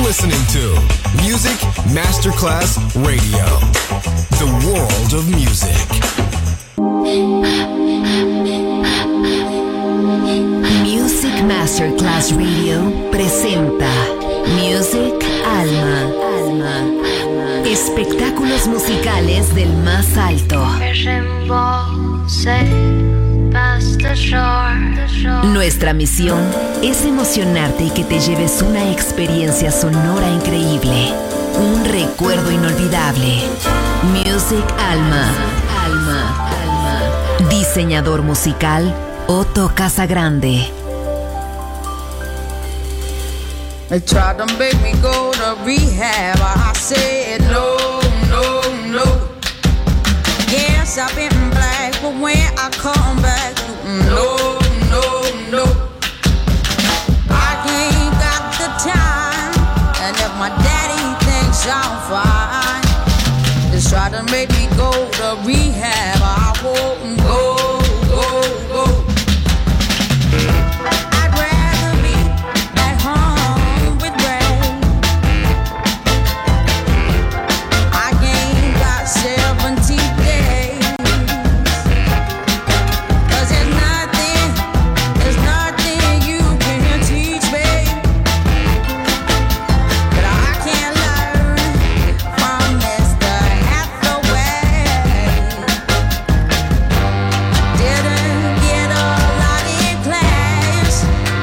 listening to Music Masterclass Radio, the world of music. Music Masterclass Radio presenta Music Alma. Espectáculos musicales del más alto. Nuestra misión es emocionarte y que te lleves una experiencia sonora increíble, un recuerdo inolvidable. Music Alma. Diseñador musical Otto Casagrande. They tried to make me go to rehab. I said no. Yes, I've been black, but when I come back, no. I ain't got the time, and if my daddy thinks I'm fine, just try to make me go to rehab. I won't go. I'd rather be at home with Ray. I ain't got 70 days, 'cause there's nothing you can teach me that I can't learn from Mr. Hathaway. Didn't get a lot in class,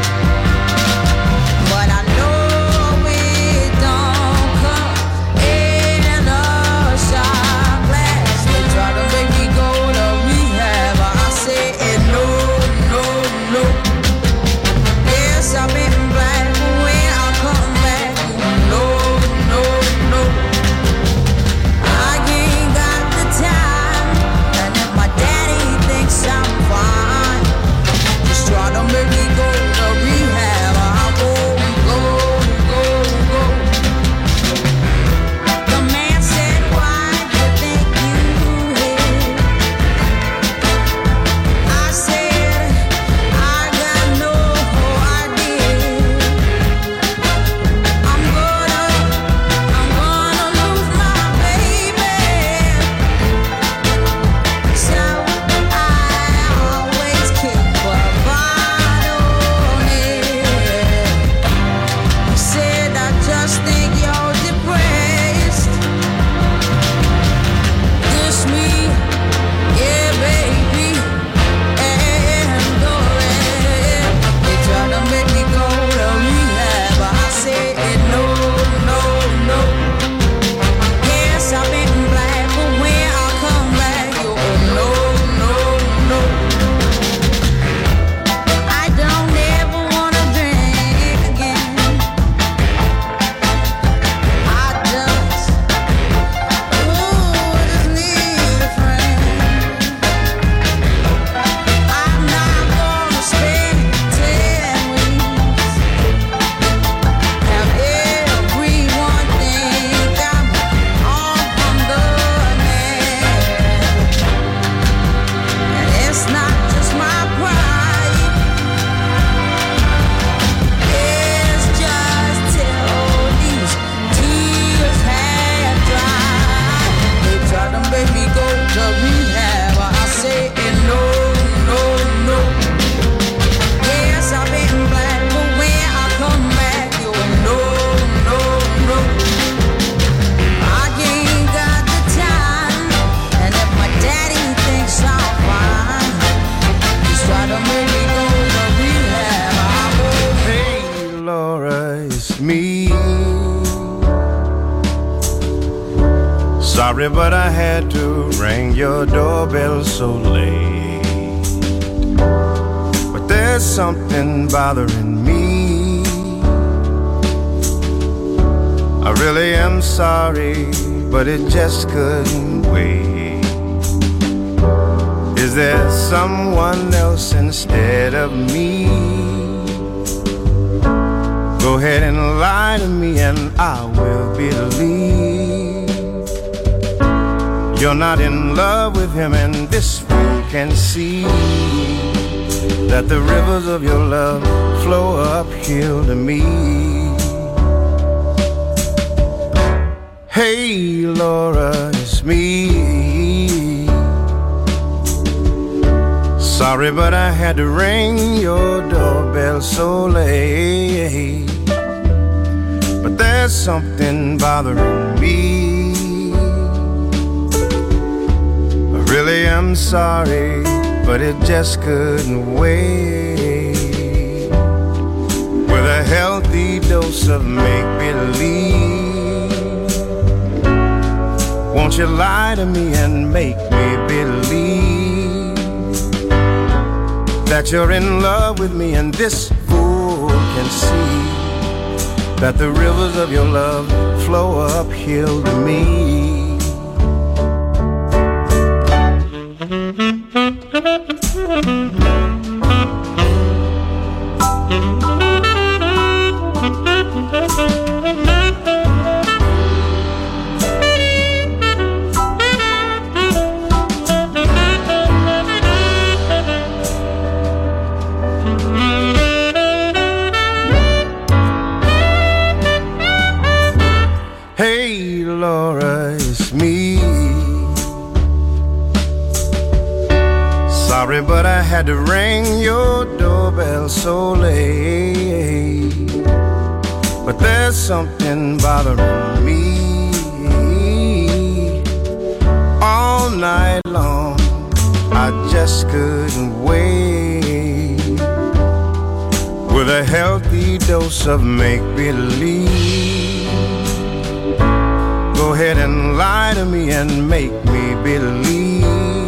but I know it don't come in a shot glass. They try to make me go to rehab. I said no. Yes, I've been black, but when I come back, no. I ain't got the time, and if my daddy thinks I'm fine, just try to make me go to rehab. I won't go. The man said, why do you think you hit? I said, I got no idea. I'm gonna lose my baby, so I always keep a bottle near. He said, I just think you're depressed. Dish me, yeah, baby, and go ahead. They try to make me go to rehab. I said no. Yes, I've been black, but when I come back, you no. I don't ever wanna drink again. I just need a friend. I'm not gonna spend 10 weeks. Have everyone think I'm on the man. And it's not just my pride, it's just till these tears have dried. They tried to make me go to rehab. I say no. Yes, I've been black, but when I come back, you no. I ain't got the time, and if my daddy thinks I'm fine, just try to make me go to rehab. I won't. Hey, Laura, it's me. Sorry, but I had to ring your doorbell so late. But there's something bothering me. I really am sorry, but it just couldn't wait. Is there someone else instead of me? Go ahead and lie to me and I will believe you're not in love with him, and this fool can see that the rivers of your love flow uphill to me. Sorry, but I had to ring your doorbell so late. But there's something bothering me. I really am sorry, but it just couldn't wait. With a healthy dose of make-believe, won't you lie to me and make me believe that you're in love with me, and this fool can see that the rivers of your love flow uphill to me. Hey Laura, it's me. Sorry, but I had to ring your doorbell so late. But there's something bothering me. All night long, I just couldn't wait. With a healthy dose of make-believe, go ahead and lie to me and make me believe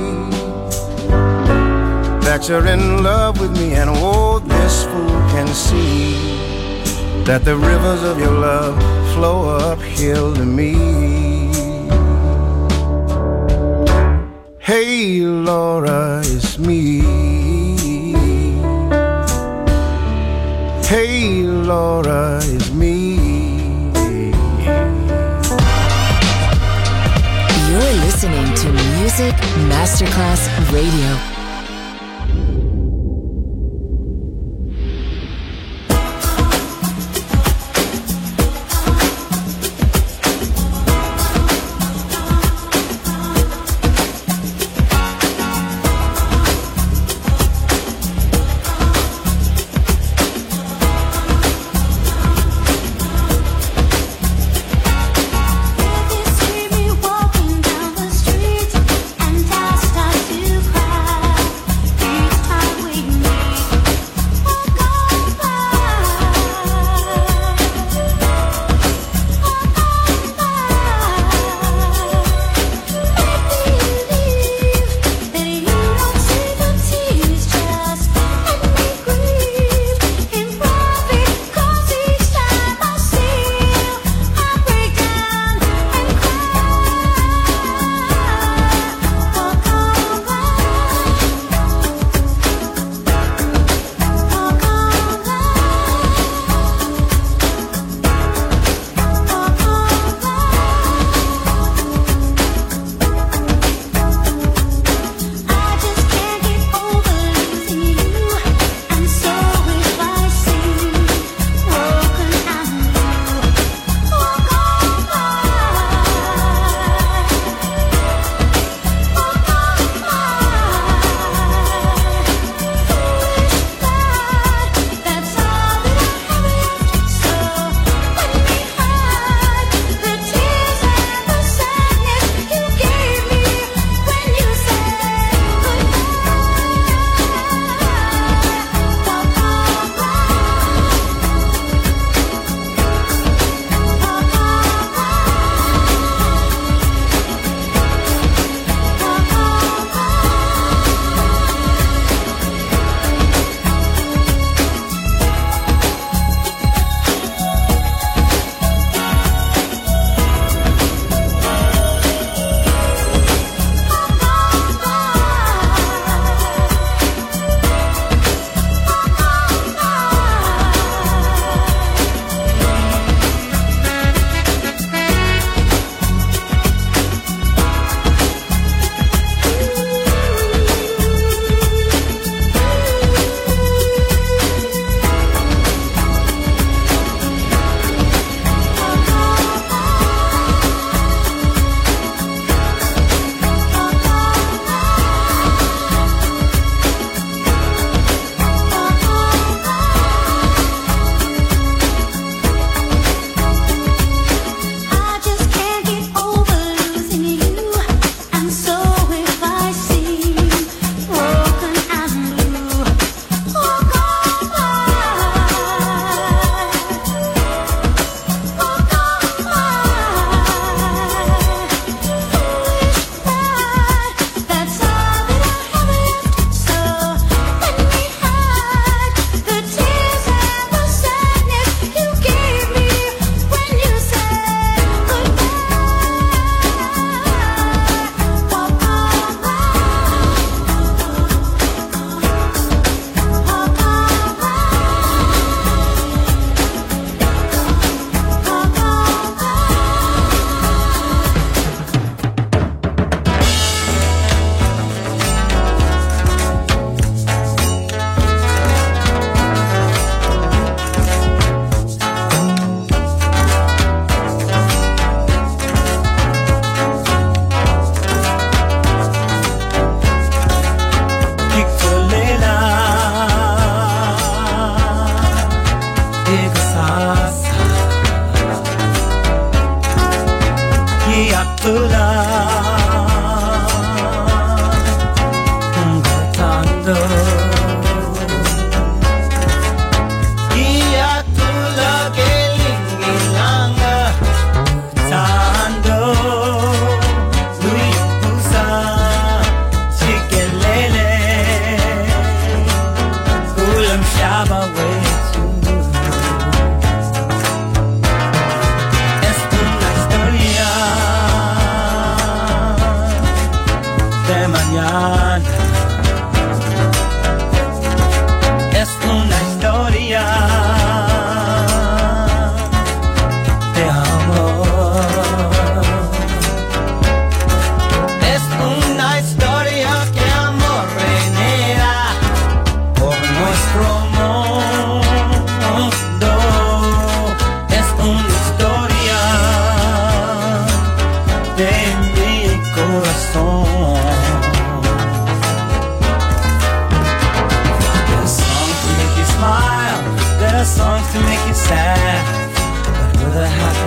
that you're in love with me, and oh, this fool can see that the rivers of your love flow uphill to me. Hey Laura, it's me. Hey Laura, it's me. You're listening to Music Masterclass Radio. Walking down the street and I start to cry.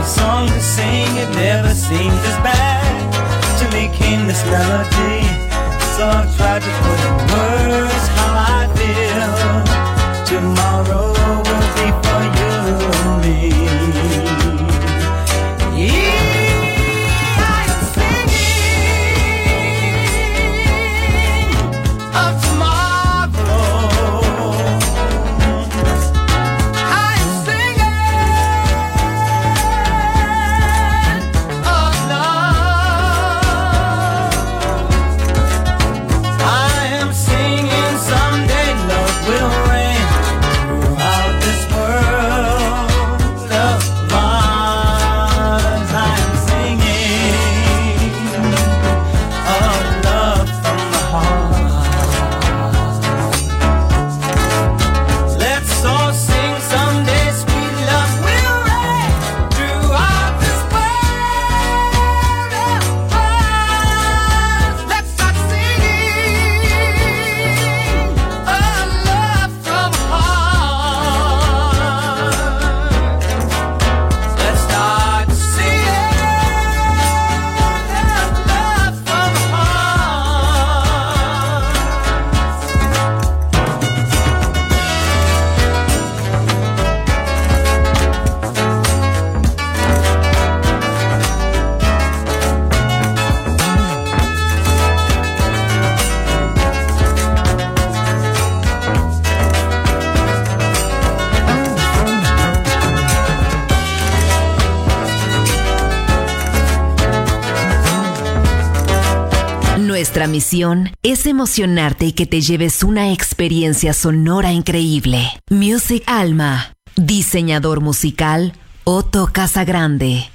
song to sing, it never seemed as bad. Till he came this melody, so I tried to put in words how I feel. Tomorrow will be for you and me. Yeah, I'm singing of tomorrow. I'm singing of love. I am singing someday love will reign throughout this world of mine. I am singing of love from the heart. Let's all sing someday sweet love will reign throughout this world of mine. Let's start singing a love from heart. Let's start singing love from Nuestra misión es emocionarte y que te lleves una experiencia sonora increíble. Music Alma. Diseñador musical, Otto Casagrande.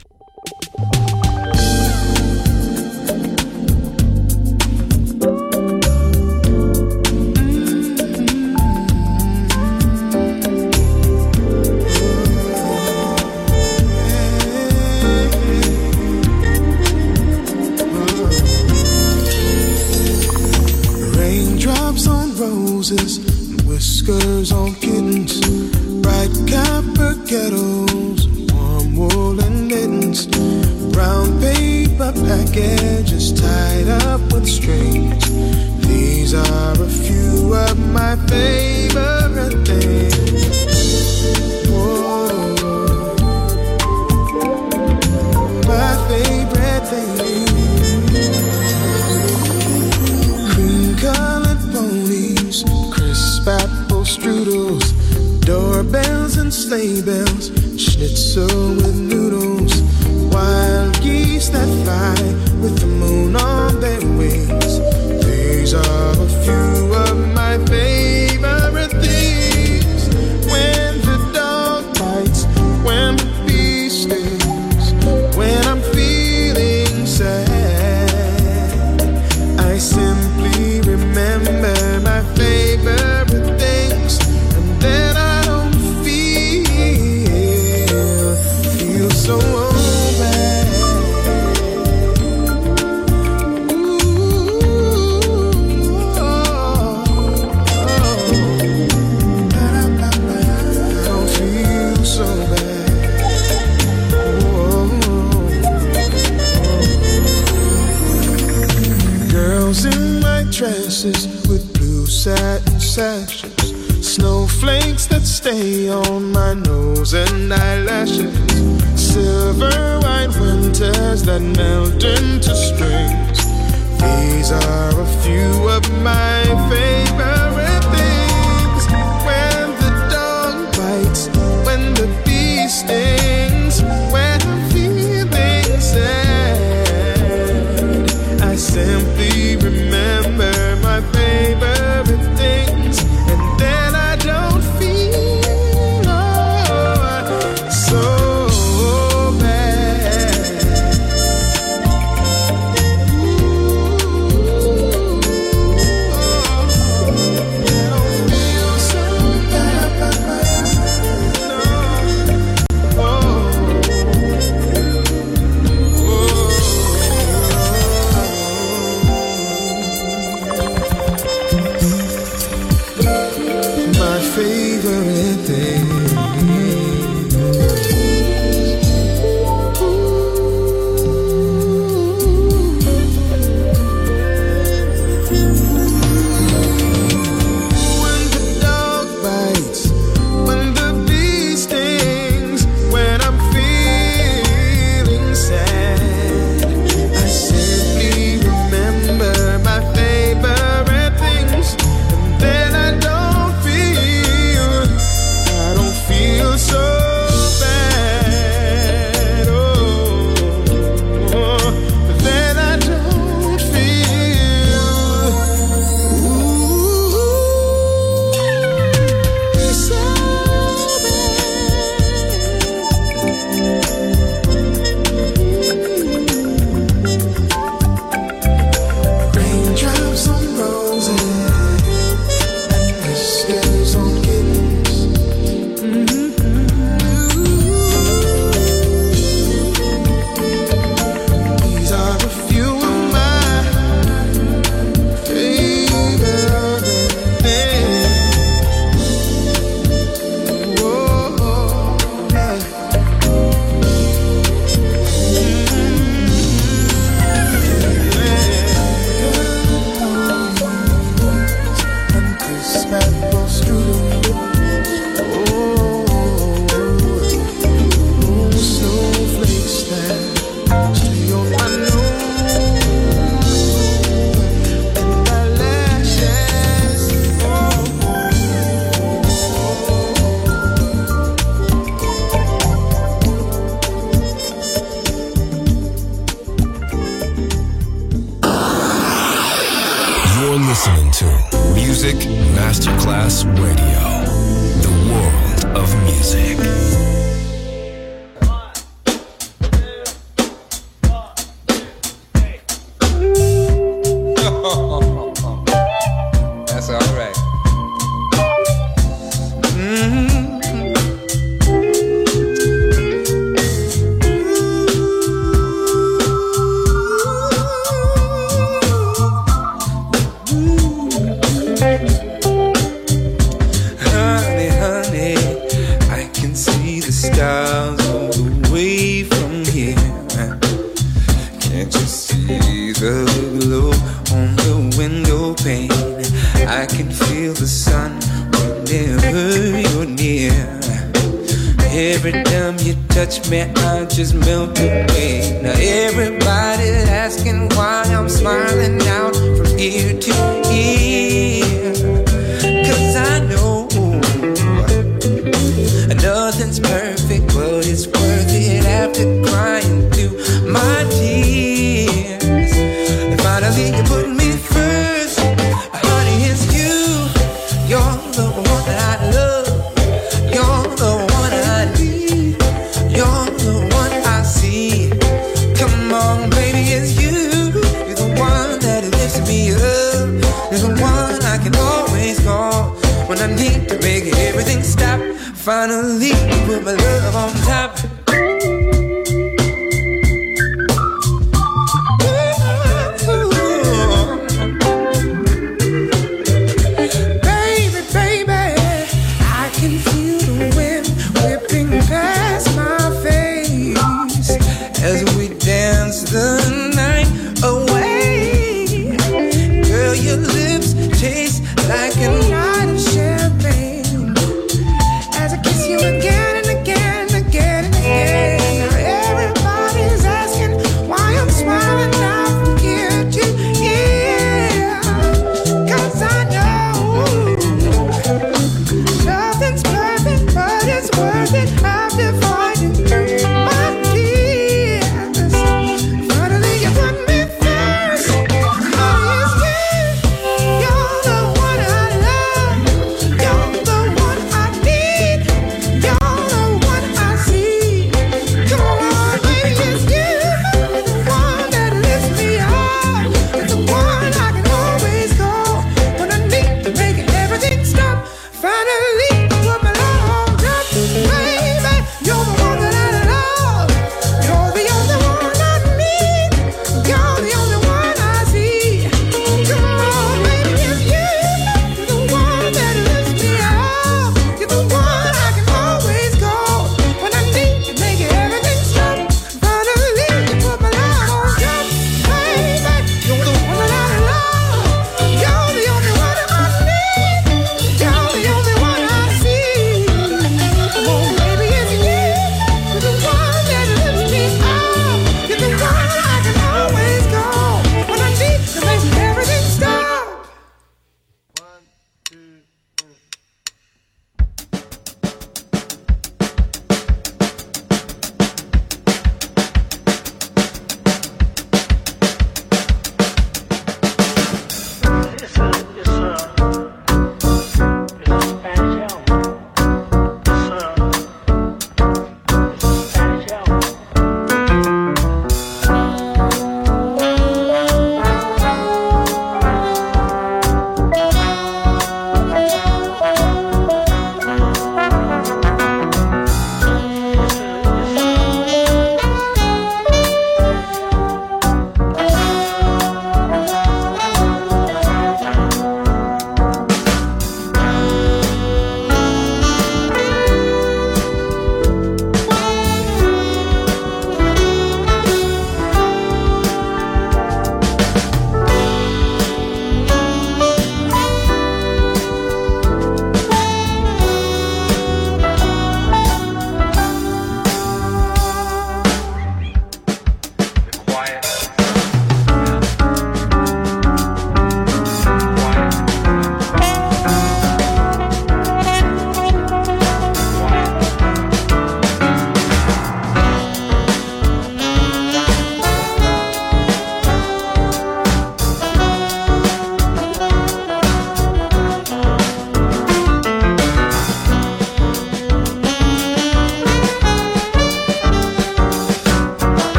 Raindrops on roses, whiskers on kittens, bright copper kettles, warm woolen mittens, brown paper packages tied up with strings. These are a few of my favorite things. Whoa. My favorite things. Cream-colored ponies, crisp apple strudels, doorbells and sleigh bells, schnitzel with noodles, wild geese that fly with the moon on their wings. These are a few of my favorite things. When the dog bites, when the bee stings, when I'm feeling sad, I simply remember my favorite things, and then I don't feel so bad. Ooh, I don't feel so bad. Girls in white dresses with blue satin sashes, snowflakes that stay on my nose and eyelashes, silver white winters that melt into springs. These are a few of my favorite things. When the dog bites, when the bee stings, when I'm feeling sad, I simply remember my favorite things, and then I don't feel so bad. Ooh, to Music Masterclass Radio, the world of music. That's all right. I can feel the sun whenever you're near. Every time you touch me, I just melt away. Now everybody's asking why I'm smiling out from ear to ear. 'Cause I know nothing's perfect, but it's worth it after crying through my tears. And finally you put me first. Honey, it's you. You're the one that I love. You're the one I need. You're the one I see. Come on, baby, it's you. You're the one that lifts me up. You're the one I can always call when I need to make everything stop. Finally, you put my love on top. The night away, girl, your lips taste like a night of champagne. As I kiss you again and again and again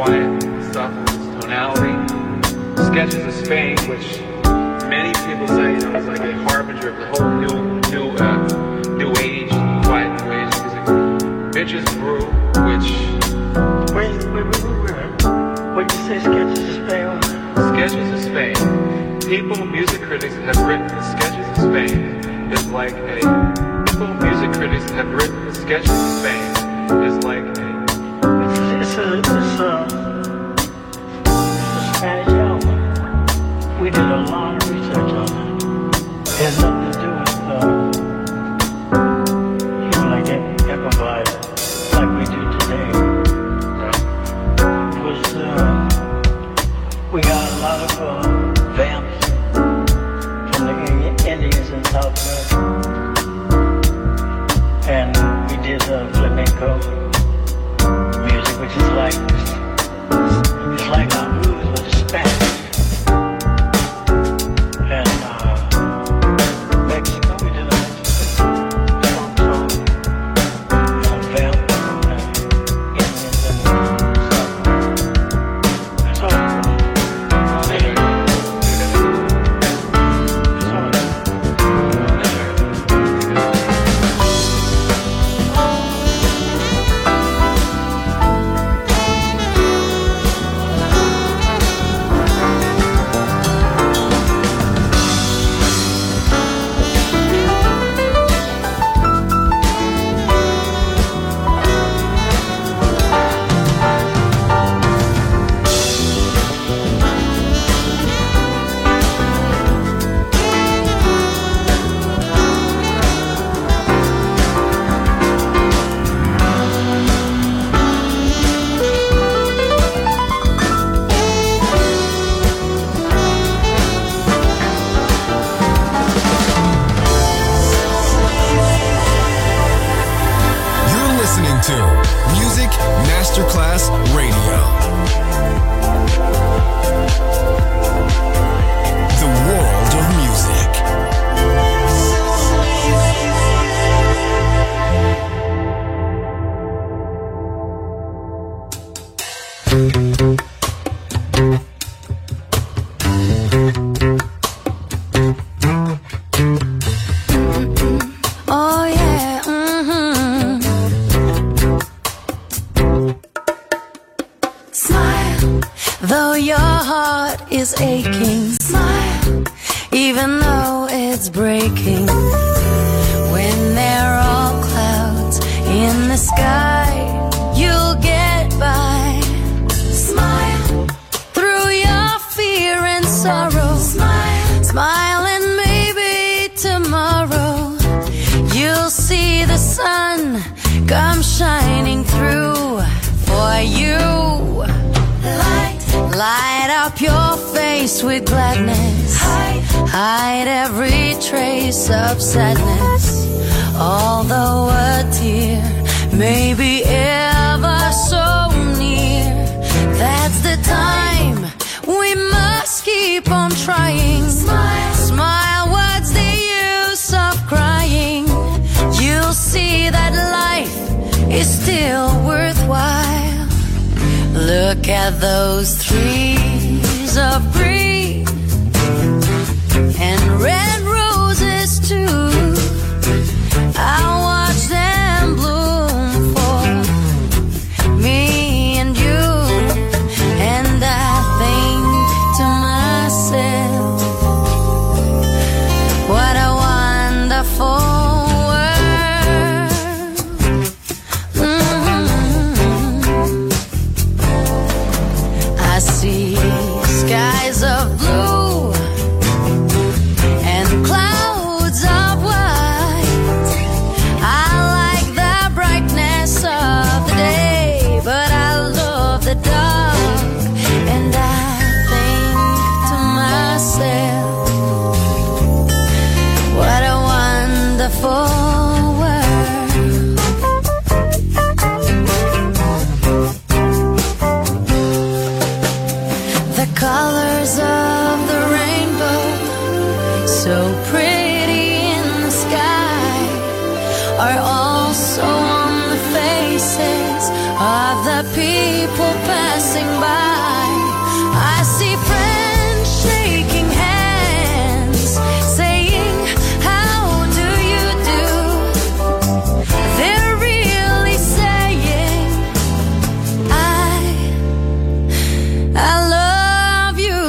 quiet stuff, tonality. Sketches of Spain, which many people say, is like a harbinger of the whole new age, quiet new age music. Bitches Brew, which... Wait. What did you say, Sketches of Spain? Sketches of Spain. Music critics have written the Sketches of Spain is like a... music critics have written the Sketches of Spain is like a... It's a Spanish album. We did a lot of research on it. It has nothing to do with, like Empire, like we do today. It was, we got a lot of vamps from the Indians in South America. And we did flamenco music, which is like, it's like our blues, but it's Spanish. And Mexico, we did a funk song, and a vamp from the Indians and stuff. That's all. Masterclass Radio. The world of music. Oh yeah, Smile, though your heart is aching. Smile, even though it's breaking. When there are all clouds in the sky, you'll get by. Smile, through your fear and sorrow. Smile, smile, and maybe tomorrow you'll see the sun come shining through for you. Light up your face with gladness. Hide every trace of sadness. Although a tear may be ever so near, that's the time we must keep on trying. Smile, smile, what's the use of crying? You'll see that life is still worthwhile. Look at those trees of green and red roses too. I'll watch them bloom for me and you. And I think to myself, what a wonderful skies of blue and the people passing by. I see friends shaking hands, saying, how do you do? They're really saying, I love you.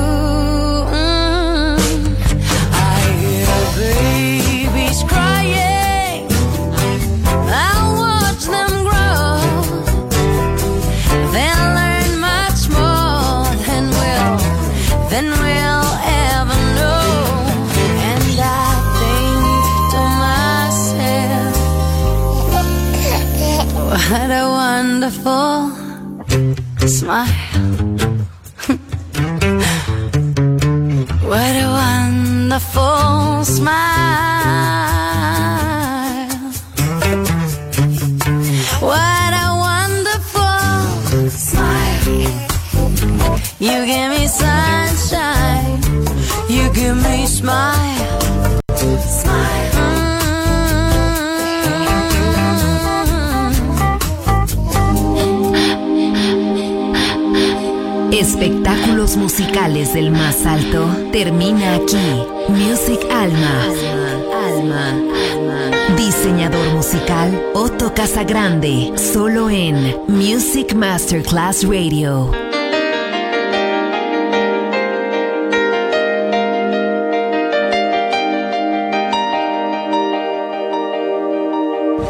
I hear babies crying, I'll watch them grow. They'll learn much more than we'll ever know. And I think to myself, what a wonderful smile. What a wonderful smile. What a wonderful smile. You give me sunshine. You give me smile. Smile. Espectáculos musicales del más alto termina aquí. Music Alma. Diseñador musical Otto Casagrande, solo en Music Masterclass Radio.